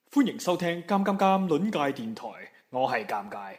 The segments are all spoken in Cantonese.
歡迎收聽《尷尷尷》論界電台，我係尷尬。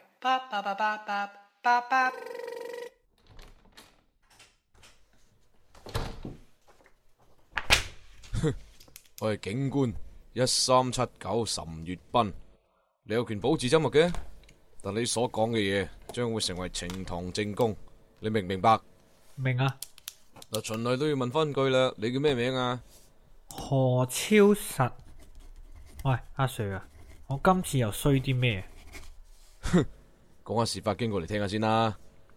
我係警官1379岑月斌，你有權保持緘默嘅，但你所講嘅嘢將會成為呈堂證供，你明唔明白？ 明啊。 嗱，循例都要問翻句啦，你叫咩名啊？ 何超實。喂，阿 Sir 啊，我今次又衰啲咩？ 講下事發經過嚟聽下先啦。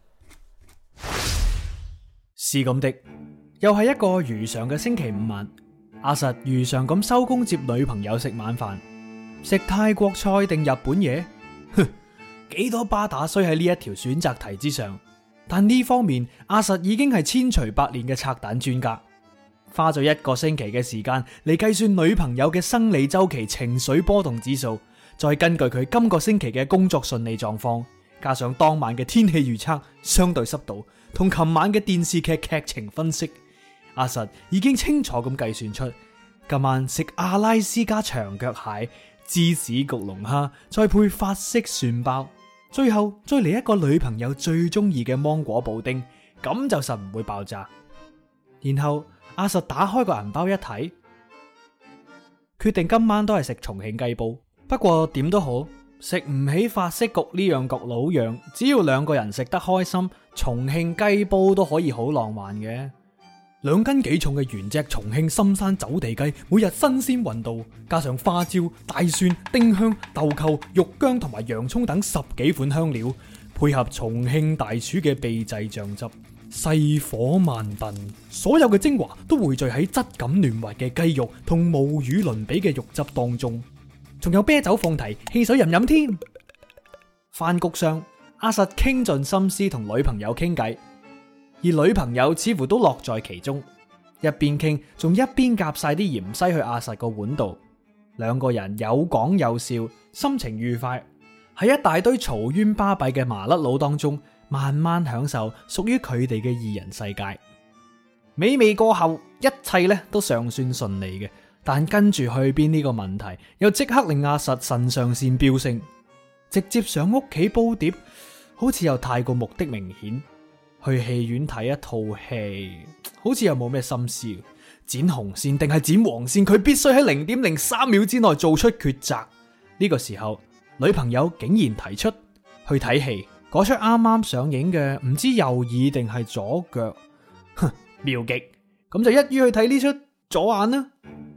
是咁的，又係一個如常嘅星期五晚，阿實如常咁收工接女朋友食晚飯，食泰國菜定日本嘢？哼，幾多巴打衰喺呢一條選擇題之上，但呢方面阿實已經係千錘百煉嘅拆彈專家，花咗一個星期嘅時間嚟計算女朋友嘅生理週期情緒波動指數，再根據佢今個星期嘅工作順利狀況，加上當晚嘅天氣預測、相對濕度同琴晚嘅電視劇劇情分析，阿實已經清楚咁計算出今晚食阿拉斯加長腳蟹、芝士焗龍蝦，再配法式蒜包，最後再嚟一個女朋友最中意嘅芒果布丁，咁就實唔會爆炸。然後阿實打開個銀包一睇，決定今晚都係食重慶雞煲。不過點都好，食唔起法式焗呢樣焗老樣，只要兩個人食得開心，重慶雞煲都可以好浪漫嘅。2斤幾重嘅原隻重慶深山走地雞，每日新鮮運到，加上花椒、大蒜、丁香、豆蔻、肉薑同埋洋蔥等10幾款香料，配合重慶大廚嘅秘製醬汁，細火慢燉，所有嘅精華都匯聚喺質感嫩滑嘅雞肉同無與倫比嘅肉汁當中，仲有啤酒放題，汽水飲飲添。飯局上，阿實傾盡心思同女朋友傾偈，而女朋友似乎都樂在其中，一邊傾仲一邊夾晒啲芫茜去阿實個碗度，兩個人有講有笑，心情愉快，喺一大堆嘈冤巴閉嘅麻甩佬當中，慢慢享受屬於佢哋嘅二人世界。美味過後，一切咧都尚算順利嘅，但跟住去邊呢個問題，又即刻令阿實腎上腺飆升，直接上屋企煲碟，好似又太過目的明顯。去戲院睇一套戲，好似又冇咩心思，剪紅線定係剪黃線，佢必須喺0.03秒之內做出抉擇。呢個時候，女朋友竟然提出去睇戲，嗰出啱啱上映嘅唔知右耳定係左腳，哼，妙極，咁就一於去睇呢出左眼啦。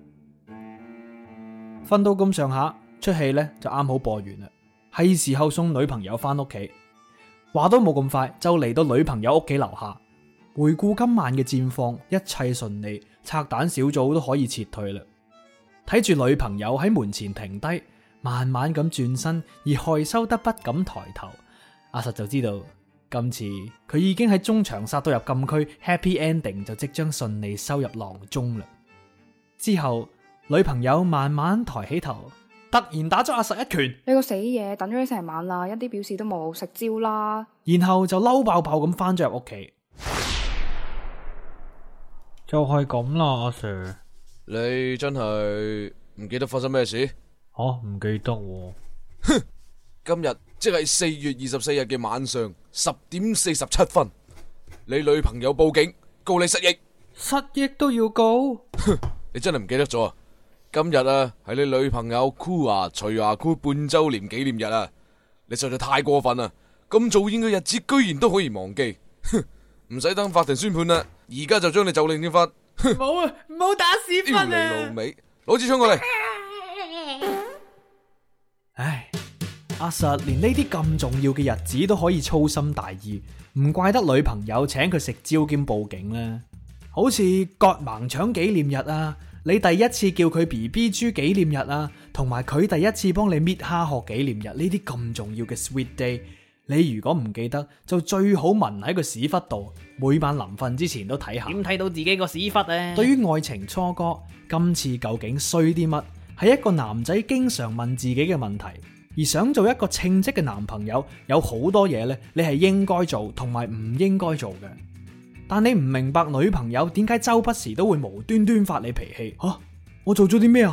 瞓到咁上下，出戲呢就啱好播完啦，係時候送女朋友翻屋企。話都冇咁快，就嚟到女朋友屋企樓下，回顧今晚嘅戰況，一切順利，拆彈小組都可以撤退啦。睇住女朋友喺門前停低，慢慢咁轉身，而害羞得不敢抬頭，阿實就知道今次佢已經喺中場殺到入禁區 ，Happy Ending 就即將順利收入囊中啦。之後女朋友慢慢抬起頭，突然打咗阿實一拳， 你個死嘢，等咗你成晚啦，一啲表示都冇，食蕉啦。 然後就嬲爆爆咁翻咗入屋企。 就係咁啦，阿 Sir。 你真係唔記得發生咩事？ 唔記得喎。 哼，今日即係4月24日嘅晚上10:47分，你女朋友報警告你失憶。 失憶都要告？ 哼，你真係唔記得咗啊！今日啊，係你女朋友箍牙除牙箍半周年紀念日啊！你實在太過分啦！咁做演嘅日子居然都可以忘記，哼！唔使等法庭宣判啦，而家就將你就令憲法。 冇啊，唔好打屎忽屌你老味，攞支槍過嚟！ 唉，阿實連呢啲咁重要嘅日子都可以粗心大意，唔怪得女朋友請佢食蕉兼報警啦。好似割盲腸紀念日啊，你第一次叫佢 BB 豬紀念日啊，同埋佢第一次幫你搣蝦殼紀念日，呢啲咁重要嘅 sweet day，你如果唔記得，就最好紋喺個屎忽度，每晚臨瞓之前都睇下。 點睇到自己個屎忽啊？ 對於愛情初哥，今次究竟衰啲乜？係一個男仔經常問自己嘅問題。而想做一個稱職嘅男朋友，有好多嘢咧，你係應該做同埋唔應該做嘅。但你唔明白女朋友點解周不時都會無端端發你脾氣。我做咗啲咩啊？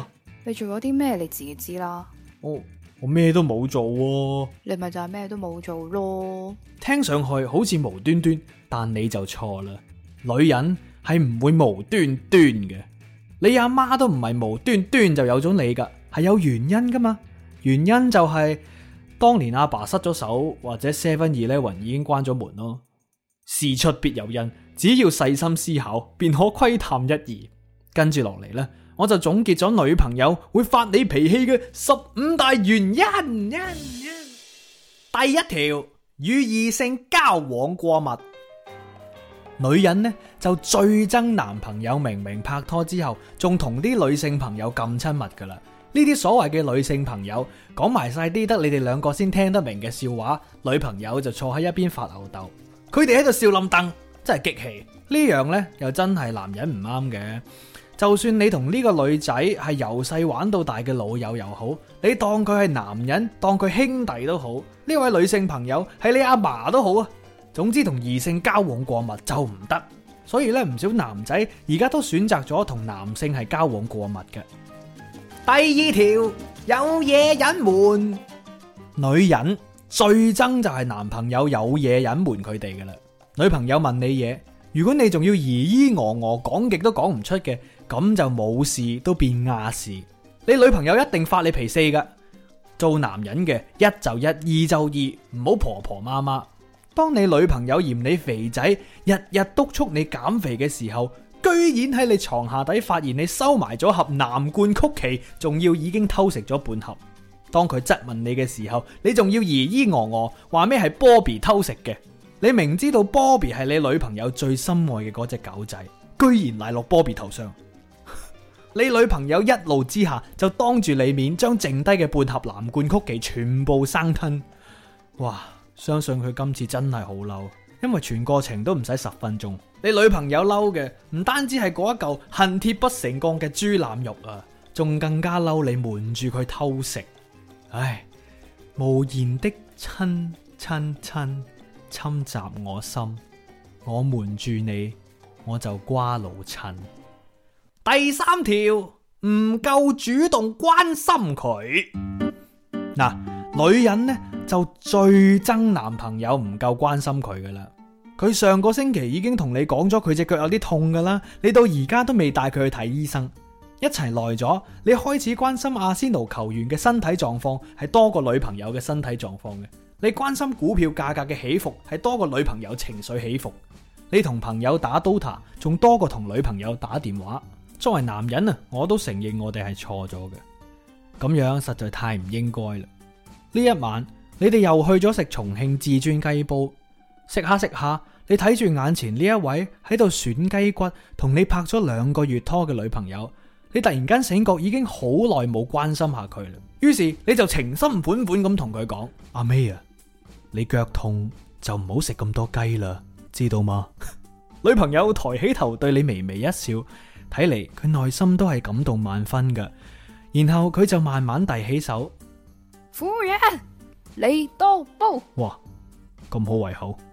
你做咗啲咩你自己知啦， 我咩都冇做喎。 你咪就係咩都冇做咯。 聽上去好似無端端，但你就錯啦。女人係唔會無端端嘅，你阿媽都唔係無端端就有咗你噶，係有原因噶嘛。原因就係當年阿爸失咗手，或者 7-Eleven 已經關咗門咯。事出必有因，只要細心思考，便可窺探一二。跟住落嚟呢，我就總結咗女朋友會發你脾氣嘅15大原因。第一條，與異性交往過密。女人呢就最憎男朋友明明拍拖之後，仲同啲女性朋友咁親密噶啦。呢啲所謂嘅女性朋友講埋晒啲得你哋兩個先聽得明嘅笑話，女朋友就坐喺一邊發吽哣，佢哋喺度笑冧凳，真係激氣。呢樣呢又真係男人唔啱嘅。就算你同呢個女仔係由細玩到大嘅老友又好，你當佢係男人，當佢兄弟都好，呢位女性朋友係你阿嫲都好啊。總之同異性交往過密就唔得，所以咧唔少男仔而家都選擇咗同男性係交往過密嘅。第二條，有嘢隱瞞。女人最憎就係男朋友有嘢隱瞞佢哋噶啦。女朋友問你嘢，如果你仲要疑疑我講極都講唔出嘅，咁就冇事都變亞事。你女朋友一定發你脾四噶。做男人嘅一就一，二就二，唔好婆婆媽媽。當你女朋友嫌你肥仔，日日督促你減肥嘅時候，居然喺你床下底發現你收埋咗盒藍罐曲奇，仲要已經偷食咗半盒。當佢質問你嘅時候，你仲要疑疑話咩係 Bobby 偷食嘅。你明知道 Bobby 係你女朋友最心愛嘅嗰隻狗仔，居然賴落 Bobby 頭上。你女朋友一怒之下就當住你面將剩低嘅半盒藍罐曲奇全部生吞。哇！相信佢今次真係好嬲，因為全過程都唔使10分鐘。你女朋友嬲嘅唔單止係嗰一嚿恨鐵不成鋼嘅豬腩肉啊，仲更加嬲你瞞住佢偷食。唉，無言的親侵襲我心，我瞞住你，我就瓜老襯。第三條，唔夠主動關心佢。嗱，女人呢就最憎男朋友唔夠關心佢噶啦。佢上個星期已經同你講咗佢隻腳有啲痛噶啦，你到而家都未帶佢去睇醫生。一齊耐咗，你開始關心阿仙奴球員嘅身體狀況係多過女朋友嘅身體狀況嘅。你關心股票價格嘅起伏係多過女朋友情緒起伏。你同朋友打 Dota 仲多過同女朋友打電話。作為男人啊，我都承認我哋係錯咗嘅，咁樣實在太唔應該啦。呢一晚你哋又去咗食重慶至尊雞煲，食下食下，你睇住眼前呢一位喺度選雞骨同你拍咗2個月拖嘅女朋友，你突然間醒覺已經好耐冇關心下佢啦。於是你就情深款款咁同佢講：阿 May 啊，你腳痛就唔好食咁多雞啦，知道嗎？女朋友抬起頭對你微微一笑，睇嚟佢內心都係感動萬分噶。然後佢就慢慢遞起手： 夫人，你多煲。 哇，咁好胃口。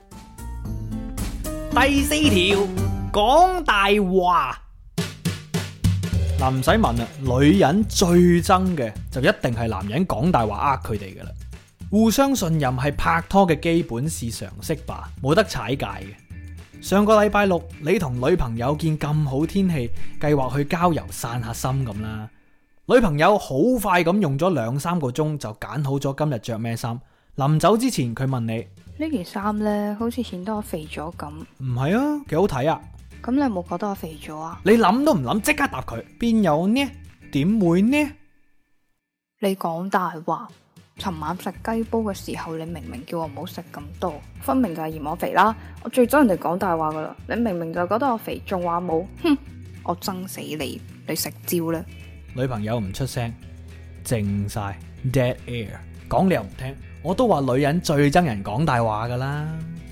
第4條，講大話。嗱，唔使問啦，女人最憎嘅就一定係男人講大話佢哋噶啦。互相信任係拍拖嘅基本是常識吧，冇得踩界嘅。上個禮拜六，你同女朋友見咁好天氣，計劃去郊遊散下心咁啦。女朋友好快咁用咗2-3個鐘就揀好咗今日着咩衫。臨走之前佢問你： 呢件衫呢，好似顯得我肥咗咁。 唔係啊，幾好睇啊。 咁你有冇覺得我肥咗啊？ 你諗都唔諗，即刻答佢：邊有呢？點會呢？ 你講大話。尋晚食雞煲嘅時候，你明明叫我唔好食咁多，分明就係嫌我肥啦。我最憎人哋講大話噶啦，你明明就覺得我肥，仲話冇，哼！我憎死你，你食蕉啦！ 女朋友唔出聲，靜晒 dead air， 講你又唔聽，我都話女人最憎人講大話噶啦。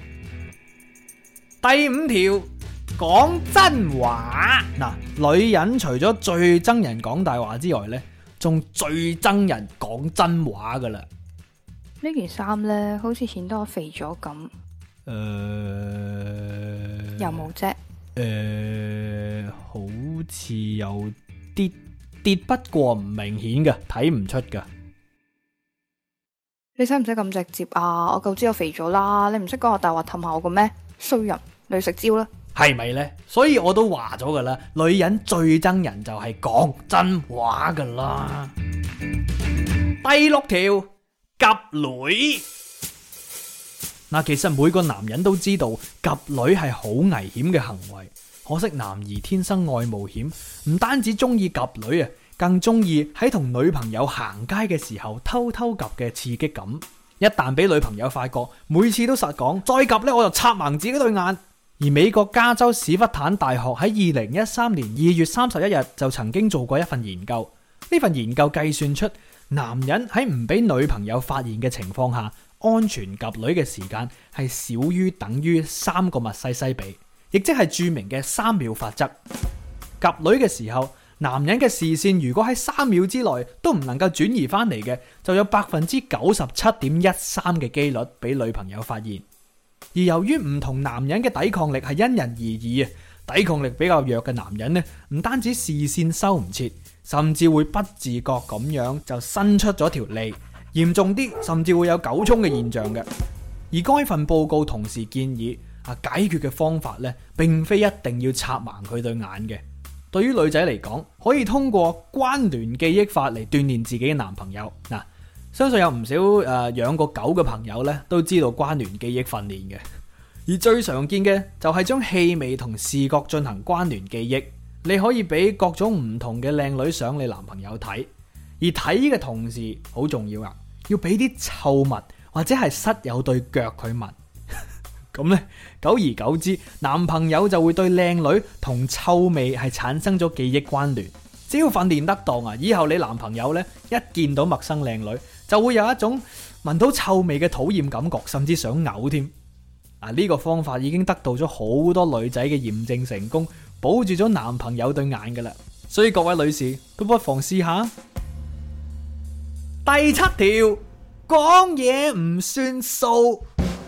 第5條，講真話。嗱，女人除咗最憎人講大話之外呢，仲最憎人講真話噶啦。 呢件衫呢，好似顯得我肥咗咁。有冇啫？ 好似有啲跌不過唔明顯嘅，睇唔出噶。 你使唔使咁直接啊？我夠知我肥咗啦，你唔識講我大話氹下我個咩？衰人，你食蕉啦。 係咪呢？所以我都話咗噶啦，女人最憎人就係講真話噶啦。第6條，夾女。嗱，其實每個男人都知道夾女係好危險嘅行為，可惜男兒天生愛冒險，唔單止中意夾女啊，更中意喺同女朋友行街嘅時候偷偷夾嘅刺激感。一旦俾女朋友發覺，每次都實講再夾呢，我就插盲自己對眼。而美國加州史屈坦大學喺2013年2月31日就曾經做過一份研究，呢份研究計算出男人喺唔俾女朋友發現嘅情況下，安全夾女嘅時間係少於等於3個密西西比，亦即係著名嘅3秒法則。夾女嘅時候，男人嘅視線如果喺3秒之內都唔能夠轉移翻嚟嘅，就有 97.13% 嘅機率俾女朋友發現。而由於唔同男人嘅抵抗力係因人而異啊，抵抗力比較弱嘅男人呢，唔單止視線收唔切，甚至會不自覺咁樣就伸出咗條脷，嚴重啲甚至會有狗衝嘅現象嘅。而該份報告同時建議解決嘅方法呢，並非一定要插盲佢對眼嘅。對於女仔嚟講，可以通過關聯記憶法嚟鍛煉自己嘅男朋友。嗱，相信有唔少養過狗嘅朋友呢，都知道關聯記憶訓練嘅。而最常見嘅就係將氣味同視覺進行關聯記憶。你可以俾各種唔同嘅靚女相你男朋友睇，而睇嘅同時好重要啊，要俾啲臭物或者係室友對腳佢聞。咁呢，久而久之，男朋友就會對靚女同臭味係產生咗記憶關聯。只要訓練得當啊，以後你男朋友呢，一見到陌生靚女，就會有一種聞到臭味嘅討厭感覺，甚至想嘔添。呢個方法已經得到咗好多女仔嘅驗證成功，保住咗男朋友對眼噶啦。所以各位女士都不妨試下。第7條，講嘢唔算數。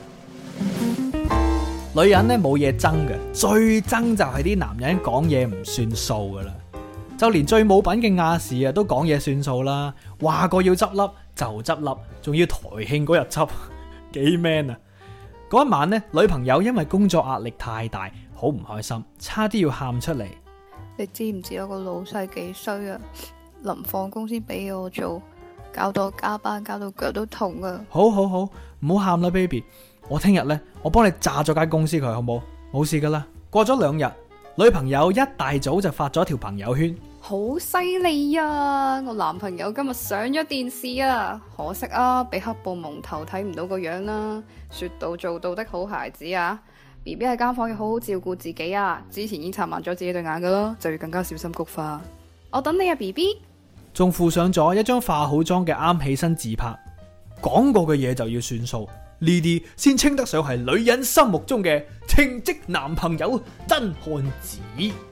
女人呢冇嘢憎嘅，最憎就係啲男人講嘢唔算數噶啦。就連最冇品嘅亞視都講嘢算數啦，話過要執笠就執笠，仲要台慶嗰日執，幾 man 啊！嗰一晚呢，女朋友因為工作壓力太大，好唔開心，差啲要喊出嚟。 你知唔知我個老細幾衰啊？臨放工先俾我做，搞到我加班，搞到腳都痛啊！ 好，唔好喊啦 ，baby。我聽日呢，我幫你炸咗間公司佢，好冇？冇事噶啦。過咗2日，女朋友一大早就發咗條朋友圈， 好犀利啊！我男朋友今日上咗電視啊，可惜啊，俾黑布蒙頭睇唔到個樣啦。說到做到的好孩子啊 ，BB 喺間房要好好照顧自己啊。之前已經插盲咗自己對眼噶啦，就要更加小心菊花。我等你啊 ，BB。 仲附上咗一張化好妝嘅啱起身自拍，講過嘅嘢就要算數，呢啲先稱得上係女人心目中嘅稱職男朋友真漢子。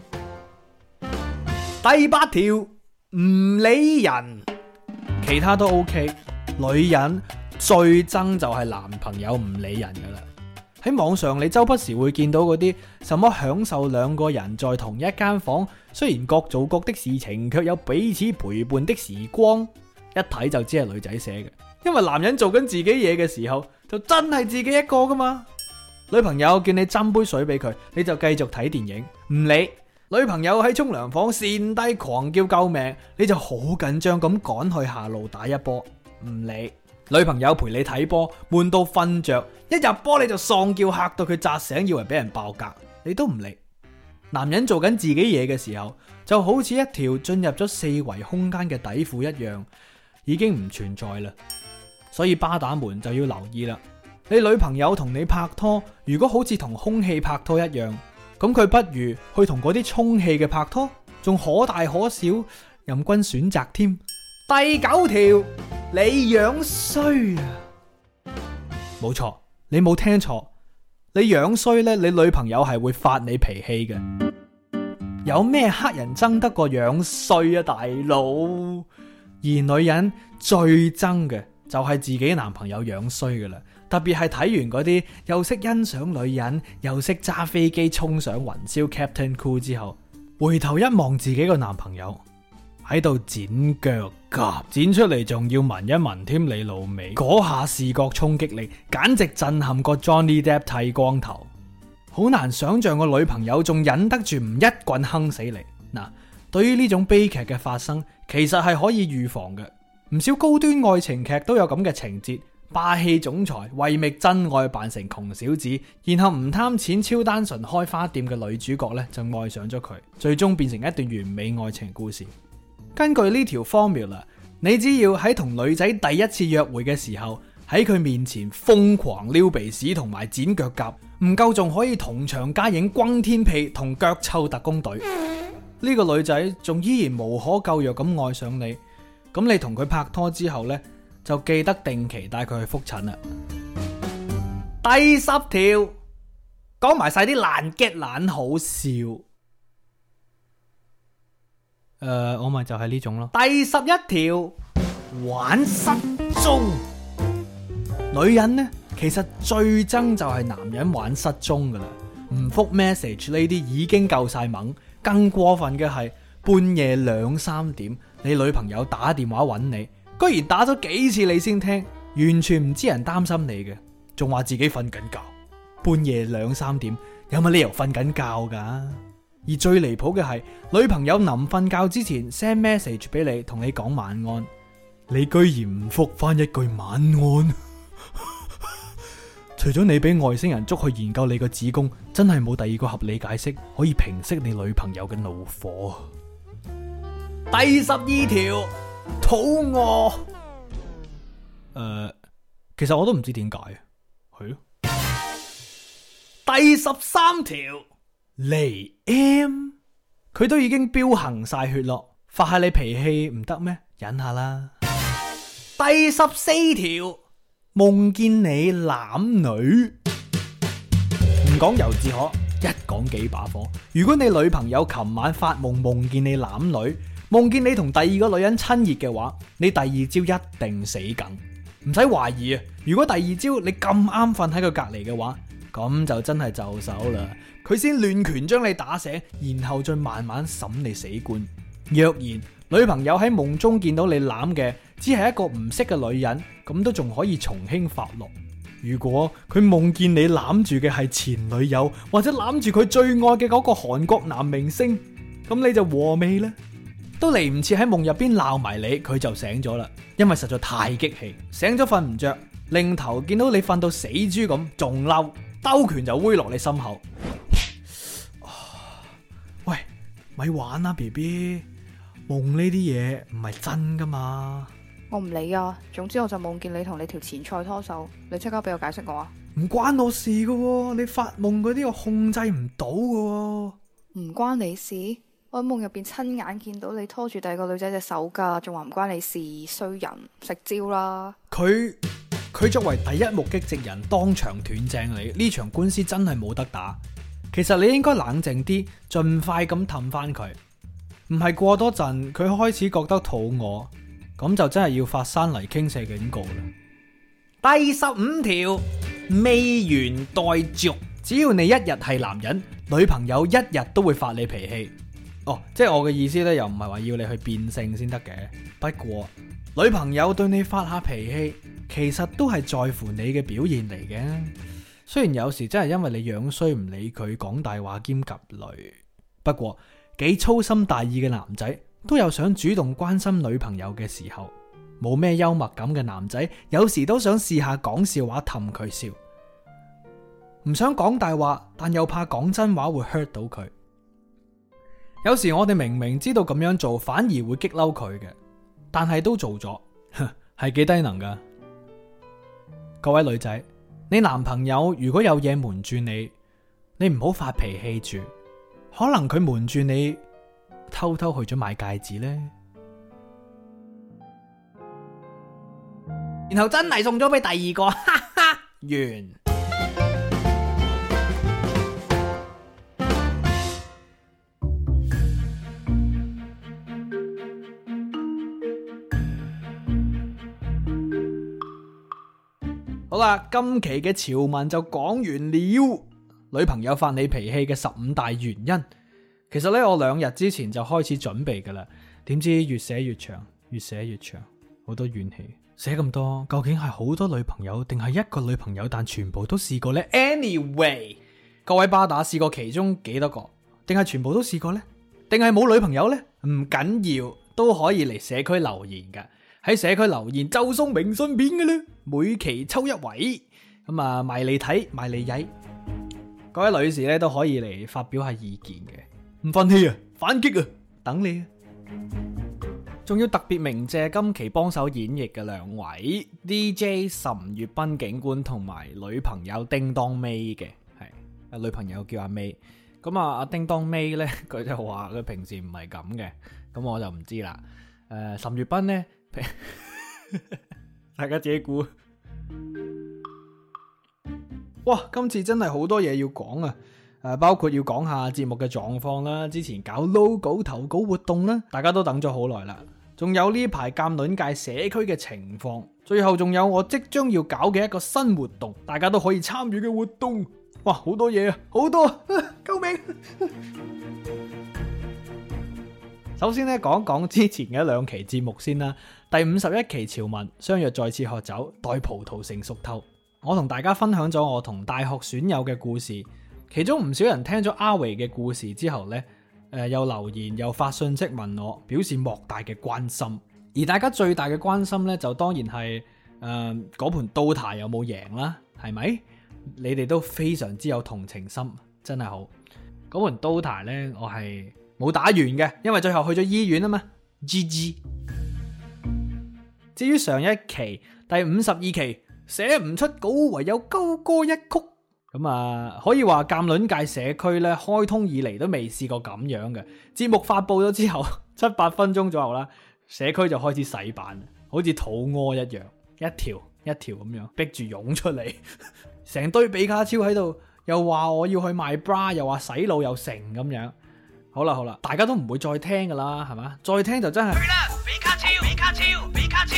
第8條，唔理人，其他都 OK。女人最憎就係男朋友唔理人噶啦。喺網上你周不時會見到嗰啲什麼享受2個人在同一間房，雖然各做各的事情，卻有彼此陪伴的時光。一睇就知係女仔寫嘅，因為男人做緊自己嘢嘅時候，就真係自己一個噶嘛。女朋友叫你斟杯水俾佢，你就繼續睇電影，唔理。女朋友喺沖涼房跣低狂叫救命，你就好緊張咁趕去下路打一波，唔理。女朋友陪你睇波，悶到瞓着，一入波你就喪叫，嚇到佢扎醒，以為俾人爆格，你都唔理。男人做緊自己嘢嘅時候，就好似一條進入咗4維空間嘅底褲一樣，已經唔存在啦。所以巴打們就要留意啦。你女朋友同你拍拖，如果好似同空氣拍拖一樣，咁佢不如去同嗰啲充氣嘅拍拖，仲可大可小，任君選擇添。第9條，你樣衰啊！冇錯，你冇聽錯，你樣衰呢，你女朋友係會發你脾氣嘅。有咩黑人憎得過樣衰啊，大佬？而女人最憎嘅就係自己男朋友樣衰噶啦，特別係睇完嗰啲又識欣賞女人又識揸飛機衝上雲霄 Captain Cool 之後，回頭一望自己個男朋友， 喺度剪腳甲，剪出嚟仲要聞一聞添你老味，嗰下視覺衝擊力簡直震撼過 Johnny Depp 剃光頭。好難想象個女朋友仲忍得住唔一棍哼死你。嗱，對於呢種悲劇嘅發生，其實係可以預防嘅。唔少高端愛情劇都有咁嘅情節，霸氣總裁為覓真愛扮成窮小子，然後唔貪錢超單純開花店嘅女主角呢，就愛上咗佢，最終變成一段完美愛情故事。根據呢條 formula， 你只要喺同女仔第一次約會嘅時候，喺佢面前瘋狂撩鼻屎同埋剪腳甲，唔夠仲可以同場加映轟天屁同腳臭特工隊。呢個女仔仲依然無可救藥咁愛上你，咁你同佢拍拖之後呢，就記得定期帶佢去覆診啦。第10條，講埋晒啲爛 get 爛好笑。我咪就係呢種咯。第11條，玩失蹤。女人呢，其實最憎就係男人玩失蹤噶啦，唔覆 message 呢啲已經夠晒猛，更過分嘅係半夜2、3點，你女朋友打電話揾你，居然打咗幾次你先聽，完全唔知人擔心你嘅，仲話自己瞓緊覺。半夜2、3點，有乜理由瞓緊覺噶？而最離譜嘅係，女朋友臨瞓覺之前 send message 俾你，同你講晚安，你居然唔覆翻一句晚安。除咗你俾外星人捉去研究你個子宮，真係冇第二個合理解釋可以平息你女朋友嘅怒火。第12條，肚餓。其實我都唔知點解，係咯。第13條，嚟 M， 佢都已經飆行晒血咯，發下你脾氣唔得咩？忍下啦。第14條，夢見你攬女。唔講由自可，一講幾把火。如果你女朋友琴晚發夢見你攬女，夢見你同第二個女人親熱嘅話，你第二朝一定死梗，唔使懷疑啊！如果第二朝你咁啱瞓喺佢隔籬嘅話，咁就真係就手啦。佢先亂拳將你打醒，然後再慢慢審你死棺。若然女朋友喺夢中見到你攬嘅只係一個唔識嘅女人，咁都仲可以從輕發落。如果佢夢見你攬住嘅係前女友，或者攬住佢最愛嘅嗰個韓國男明星，咁你就和味啦。都嚟唔切喺夢入邊鬧埋你，佢就醒咗啦。因為實在太激氣，醒咗瞓唔着，擰頭見到你瞓到死豬咁，仲嬲，兜拳就揮落你心口。喂，咪玩啦 BB， 夢呢啲嘢唔係真噶嘛。 我唔理啊，總之我就夢見你同你條前菜拖手，你即刻俾我解釋我啊。 唔關我事噶喎，你發夢嗰啲我控制唔到噶喎。 唔關你事？我喺夢入邊親眼見到你拖住第二個女仔隻手噶，仲話唔關你事，衰人，食蕉啦。佢作為第一目擊證人，當場斷正你，呢場官司真係冇得打。其實你應該冷靜啲，盡快咁氹翻佢，唔係過多陣佢開始覺得肚餓，咁就真係要發山泥傾瀉警告啦。第15條，未完待續。只要你一日係男人，女朋友一日都會發你脾氣。即係我嘅意思咧，又唔係話要你去變性先得嘅。不過女朋友對你發下脾氣，其實都係在乎你嘅表現嚟嘅。雖然有時真係因為你樣衰唔理佢，講大話兼夾雷。不過幾粗心大意嘅男仔都有想主動關心女朋友嘅時候。冇咩幽默感嘅男仔，有時都想試下講笑話氹佢笑。唔想講大話，但又怕講真話會 hurt 到佢。有時我哋明明知道咁樣做反而會激嬲佢嘅，但係都做咗，係幾低能噶。各位女仔，你男朋友如果有嘢瞞住你，你唔好發脾氣住，可能佢瞞住你偷偷去咗買戒指呢，然後真係送咗俾第二個，哈哈，完。好啦，今期嘅潮文就講完了。女朋友發你脾氣嘅15大原因，其實呢，我2日之前就開始準備噶啦。 點知越寫越長，越寫越長，好多怨氣。寫咁多，究竟係好多女朋友定係一個女朋友，但全部都試過呢？ Anyway， 各位巴打試過其中幾多個，定係全部都試過呢？定係冇女朋友呢？唔緊要，都可以嚟社區留言噶。喺社區留言就送明信片嘅啦，每期抽一位，咁啊埋嚟睇，埋嚟曳。各位女士咧都可以嚟發表下意見嘅，唔忿氣啊，反擊啊，等你啊！仲要特別鳴謝今期幫手演繹嘅兩位 DJ 岑粵賓警官同埋女朋友叮當 May 嘅，係女朋友叫阿 May。咁啊，阿叮當 May 咧，佢就話佢平時唔係咁嘅，咁我就唔知啦。岑粵賓咧。大家自己估。哇，今次真係好多嘢要講啊！包括要講下節目嘅狀況啦，之前搞 logo 投稿活動啦，大家都等咗好耐啦。仲有呢排鑑論界社區嘅情況，最後仲有我即將要搞嘅一個新活動，大家都可以參與嘅活動。哇，好多嘢啊，好多救命！首先咧，講講之前嘅兩期節目先啦。第51期潮文相約再次喝酒，待葡萄成熟透。我同大家分享咗我同大學損友嘅故事，其中唔少人聽咗阿維嘅故事之後呢，又留言又發信息問我，表示莫大嘅關心。而大家最大嘅關心呢，就當然係嗰盤 Dota 有冇贏啦，係咪？你哋都非常之有同情心，真係好。嗰盤 Dota 呢，我係冇打完嘅，因為最後去咗醫院啊嘛。GG。至於上一期第52期寫唔出稿，唯有高歌一曲。咁啊，可以話鑑論界社區咧開通以嚟都未試過咁樣嘅。節目發佈咗之後7-8分鐘左右啦，社區就開始洗版，好似肚屙一樣，一條一條咁樣逼住湧出嚟，成堆比卡超喺度，又話我要去賣 bra， 又話洗腦又成咁樣。好啦，大家都唔會再聽噶啦，係嘛？再聽就真係去啦！比卡超，比卡超，比卡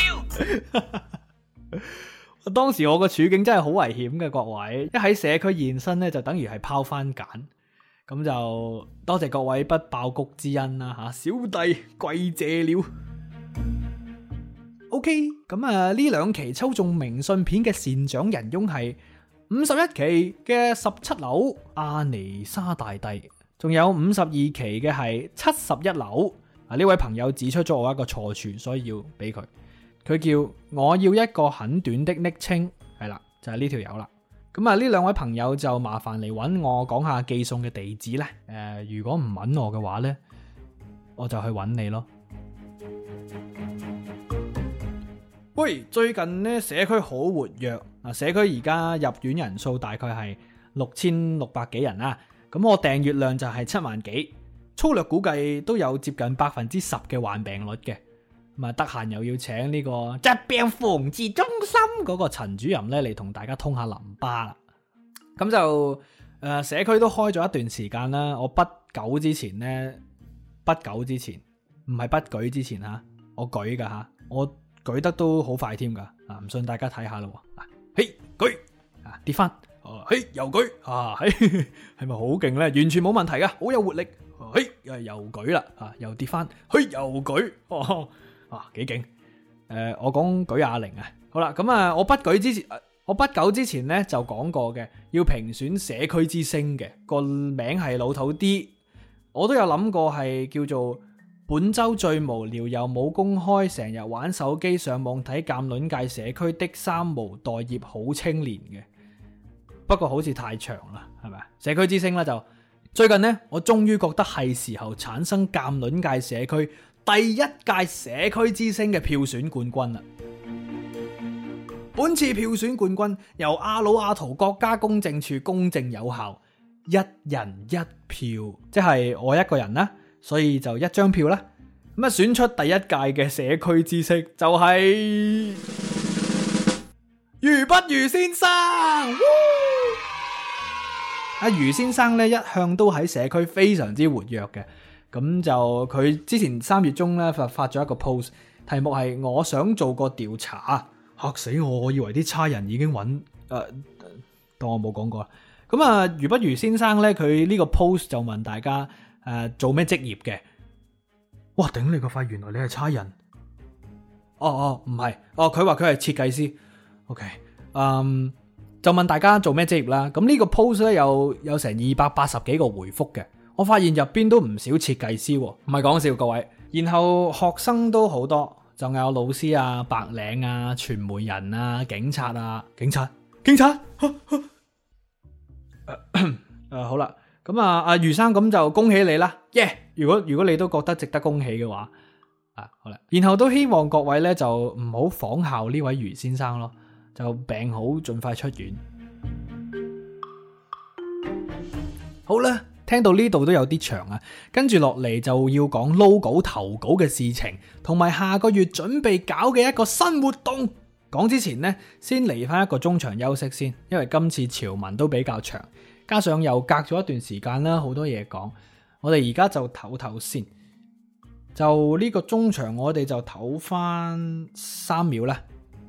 超。當時我個處境真係好危險嘅，各位一喺社區現身咧，就等於係拋番鹼。咁就多謝各位不爆谷之恩啦，吓小弟跪謝了。OK， 咁啊呢兩期抽中明信片嘅善長人翁係51期嘅17樓阿尼莎大帝。仲有52期嘅係71樓，呢位朋友指出咗我一個錯處，所以要俾佢。佢叫我要一個很短的昵稱，係啦，就係呢條友啦。咁啊，呢兩位朋友就麻煩嚟揾我講下寄送嘅地址啦。如果唔揾我嘅話呢，我就去揾你咯。喂，最近呢社區好活躍，社區而家入院人數大概係6600幾人啦。咁我訂閱量就係7萬幾，粗略估計都有接近10%嘅患病率嘅。咁啊，得閒又要請呢個疾病防治中心嗰個陳主任咧嚟同大家通下淋巴啦。咁就社區都開咗一段時間啦。我不久之前唔係不舉之前吓，我舉噶吓，我舉得都好快添噶。唔信大家睇下咯。嘿，舉跌翻。嘿，又舉嘿，係咪好勁咧？完全冇問題噶，好有活力。嘿，又舉啦，又跌翻，嘿，又舉，幾勁。我講舉啞鈴啊。好啦，咁啊，我不久之前咧就講過嘅，要評選社區之星嘅個名係老土啲，我都有諗過係叫做本周最無聊又冇公開，成日玩手機上網睇鑑論界社區的三無待業好青年嘅。不過好似太長啦，係咪？社區之星啦，就最近呢，我終於覺得係時候產生鑑論界社區第一屆社區之星嘅票選冠軍啦。本次票選冠軍由阿魯阿圖國家公證處公正有效，一人一票，即係我一個人啦，所以就一張票啦。咁啊，選出第一屆嘅社區之星就係余不如先生。阿余先生咧一向都喺社區非常之活躍嘅，咁就佢之前3月中咧發咗一個 post， 題目係我想做個調查，嚇死我！我以為啲差人已經揾當我冇講過啦。咁啊，余不如先生咧佢呢個 post 就問大家做咩職業嘅？ 哇，頂你個肺，原來你係差人。唔係，佢話佢係設計師。OK，就問大家做咩職業啦。咁呢個 post 咧有成280幾個回覆嘅，我發現入邊都唔少設計師喎，唔係講笑各位。然後學生都好多，就有老師啊、白領啊、傳媒人啊、警察啊、警察。好啦，咁阿余生咁就恭喜你啦，如果你都覺得值得恭喜嘅話，好啦，然後都希望各位咧就唔好仿效呢位余先生咯。就病好，盡快出院。好啦，聽到呢度都有啲長啊，跟住落嚟就要講 logo 投稿嘅事情，同埋下個月準備搞嘅一個新活動。講之前呢，先嚟翻一個中場休息先，因為今次潮文都比較長，加上又隔咗一段時間啦，好多嘢講，我哋而家就唞先。就呢個中場，我哋就唞翻3秒啦。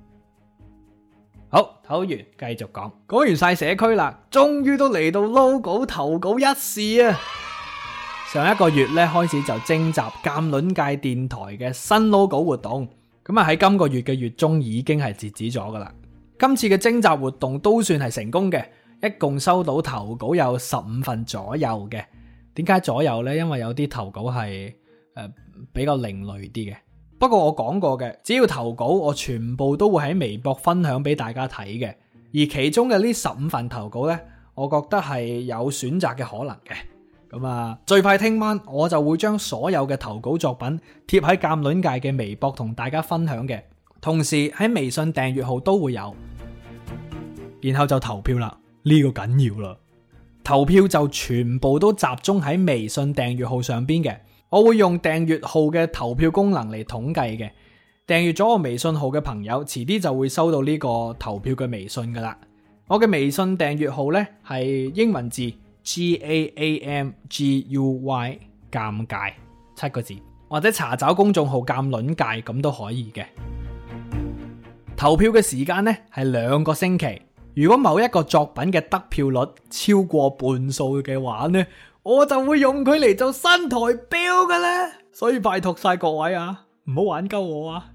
好，唞完繼續講。講完晒社區啦，終於都嚟到 logo 投稿一事啊！上一個月咧開始就徵集鑑論界電台嘅新 logo 活動，咁喺今個月嘅月中已經係截止咗噶啦。今次嘅徵集活動都算係成功嘅，一共收到投稿有15份左右嘅。點解左右呢？因為有啲投稿係比較另類啲嘅。不過我講過嘅，只要投稿，我全部都會喺微博分享俾大家睇嘅。而其中嘅呢15份投稿呢，我覺得係有選擇嘅可能嘅。咁最快聽晚我就會將所有嘅投稿作品貼喺鑑論界嘅微博同大家分享嘅，同時喺微信訂閱號都會有。然後就投票啦，呢個緊要啦。投票就全部都集中喺微信訂閱號上邊嘅。我會用訂閱號嘅投票功能嚟統計嘅，訂閱咗我微信號嘅朋友，遲啲就會收到呢個投票嘅微信噶啦。我嘅微信訂閱號呢係英文字 GAAMGUY 尷尬7個字，或者查找公眾號鑑論界咁都可以嘅。投票嘅時間呢係2個星期，如果某一個作品嘅得票率超過半數嘅話呢，我就會用佢嚟做新台標噶啦，所以拜託晒各位啊，唔好玩鳩我啊！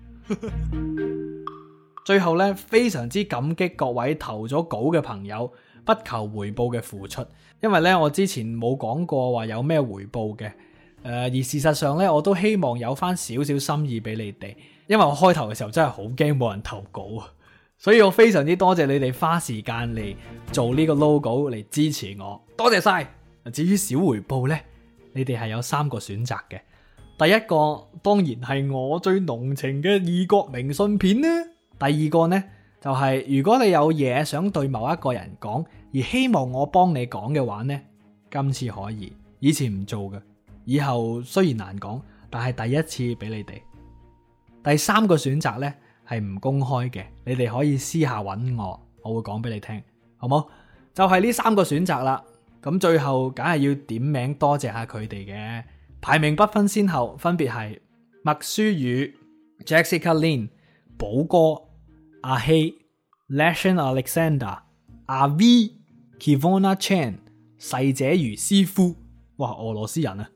最後呢，非常之感激各位投咗稿嘅朋友不求回報嘅付出，因為呢，我之前冇講過話有咩回報嘅，而事實上呢，我都希望有翻少少心意俾你哋，因為我開頭嘅時候真係好驚冇人投稿啊，所以我非常之多謝你哋花時間嚟做呢個 logo 嚟支持我，多謝晒。至於小回報呢，你哋係有3個選擇嘅。第一個當然係我最濃情嘅異國明信片啦。第二個呢，就係如果你有嘢想對某一個人講，而希望我幫你講嘅話呢，今次可以，以前唔做嘅，以後雖然難講，但係第一次俾你哋。第3個選擇呢，係唔公開嘅，你哋可以私下揾我，我會講俾你聽，好冇？就係呢3個選擇啦。咁最後梗係要點名多謝下佢哋嘅，排名不分先後，分別係麥書宇、Jessica Lin、寶哥、阿希、Lashan Alexander、阿 V、Kivona Chan、細者如師傅，哇，俄羅斯人啊！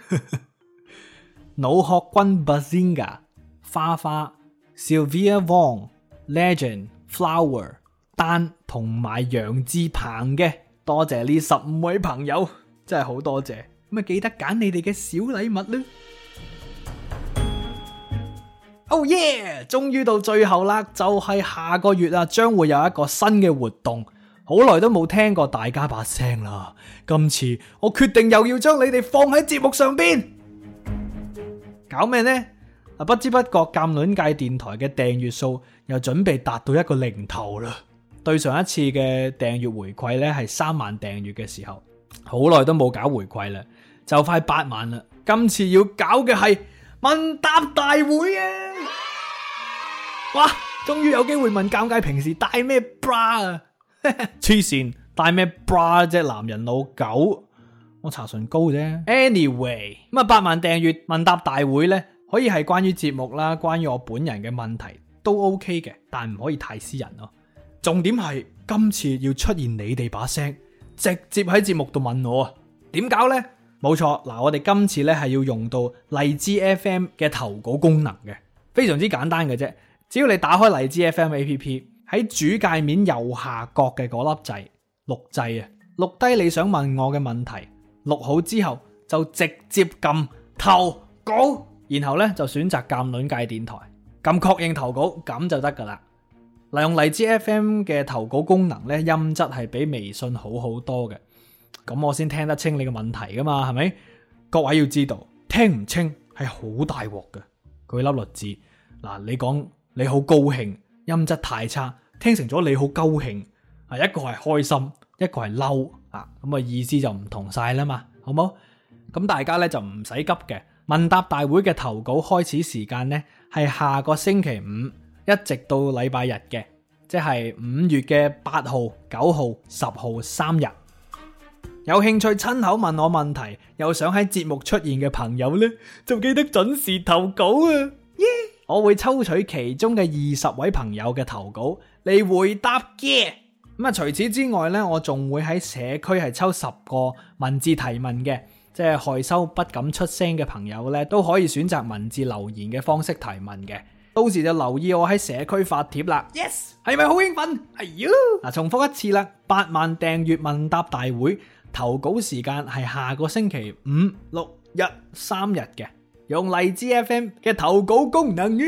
腦殼君 Bazinga、花花、Sylvia Wong、Legend、Flower、丹同埋楊志鵬嘅。多謝呢15位朋友，真係好多謝。咁記得揀你哋嘅小禮物啦。Oh yeah！ 終於到最後啦，就係下個月啊，將會有一個新嘅活動。好耐都冇聽過大家把聲啦，今次我決定又要將你哋放喺節目上邊。搞咩呢？不知不覺鑑論界電台嘅訂閱數又準備達到一個零頭啦。對上一次嘅訂閱回饋呢係3萬訂閱嘅時候，好耐都冇搞回饋啦，就快8萬啦。今次要搞嘅係問答大會啊！哇，終於有機會問尷尬平時戴咩 bra 啊！黐線，戴咩 bra 啫？男人老狗，我搽唇膏啫。Anyway， 咁8萬訂閱問答大會呢，可以係關於節目啦，關於我本人嘅問題都 OK 嘅，但唔可以太私人咯。重點係今次要出現你哋把聲，直接喺節目度問我啊！點搞呢？ 冇錯，嗱，我哋今次咧係要用到荔枝 FM 嘅投稿功能嘅，非常之簡單嘅啫。只要你打開荔枝 FM APP， 喺主界面右下角嘅嗰粒掣錄掣啊，錄低你想問我嘅問題，錄好之後就直接撳投稿，然後咧就選擇鑑論界電台，撳確認投稿，咁就得噶啦。嗱，用荔枝 FM 嘅投稿功能咧，音質係比微信好好多嘅。咁我先聽得清你嘅問題噶嘛，係咪？各位要知道，聽唔清係好大鑊嘅。舉粒例子，嗱，你講你好高興，音質太差，聽成咗你好高興，啊，一個係開心，一個係嬲，啊，咁啊意思就唔同晒啦嘛，好冇？咁大家咧就唔使急嘅。問答大會嘅投稿開始時間呢，係下個星期五，一直到禮拜日嘅，即係5月嘅8號、9號、10號3日。有興趣親口問我問題，又想喺節目出現嘅朋友呢，就記得準時投稿啊！我會抽取其中嘅20位朋友嘅投稿嚟回答嘅。咁啊，除此之外呢，我仲會喺社區係抽10個文字提問嘅，即係害羞不敢出聲嘅朋友呢，都可以選擇文字留言嘅方式提問嘅。到時就留意我喺社區發帖啦。Yes， 係咪好興奮？係喲！嗱，重複一次啦，8萬訂閱問答大會。投稿時間係下個星期5、6日3日嘅，用荔枝 FM 嘅投稿功能。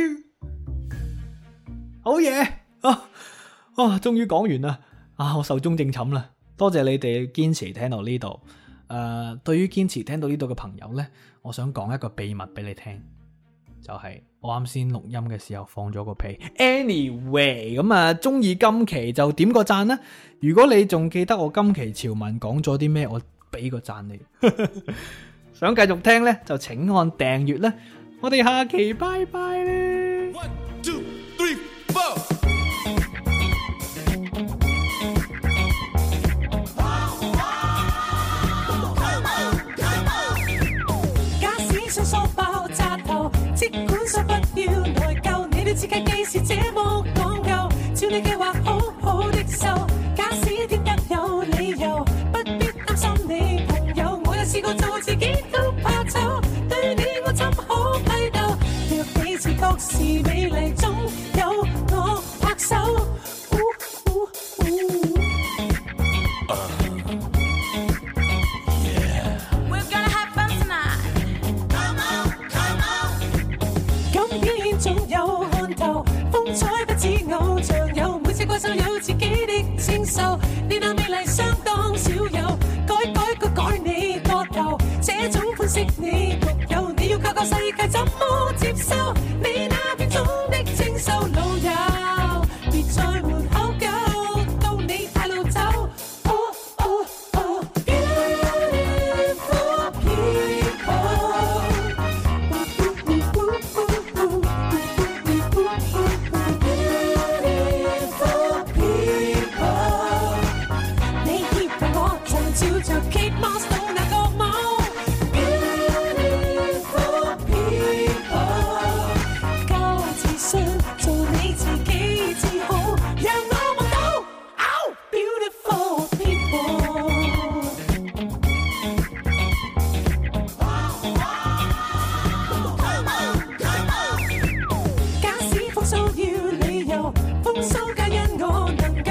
好嘢！終於講完啦！我壽終正寢啦！多謝你哋堅持聽到呢度。對於堅持聽到呢度嘅朋友呢，我想講一個秘密俾你聽，就係我啱先錄音嘅時候放咗個屁。Anyway， 咁啊，中意今期就點個讚啦！如果你仲記得我今期潮文講咗啲咩，我俾個讚你。想繼續聽呢，就請按訂閱啦。我哋下期拜拜啦。1, 2, 3, 4 即管說不要內疚，你都知計幾時這麼講究，照你計劃好好的受。假使天得有理由，不必擔心你朋友，我有試過做自己都怕醜，對你我怎可批鬥？若你自覺是美麗，總有我拍手。怪獸有自己的清秀，你那美麗相當少有，改你個頭，這種款式你獨有，你要靠個世界怎麼接受？你那片種的清秀老友，別在門口救，到你大路走。Beautiful people。風騷皆因我能夠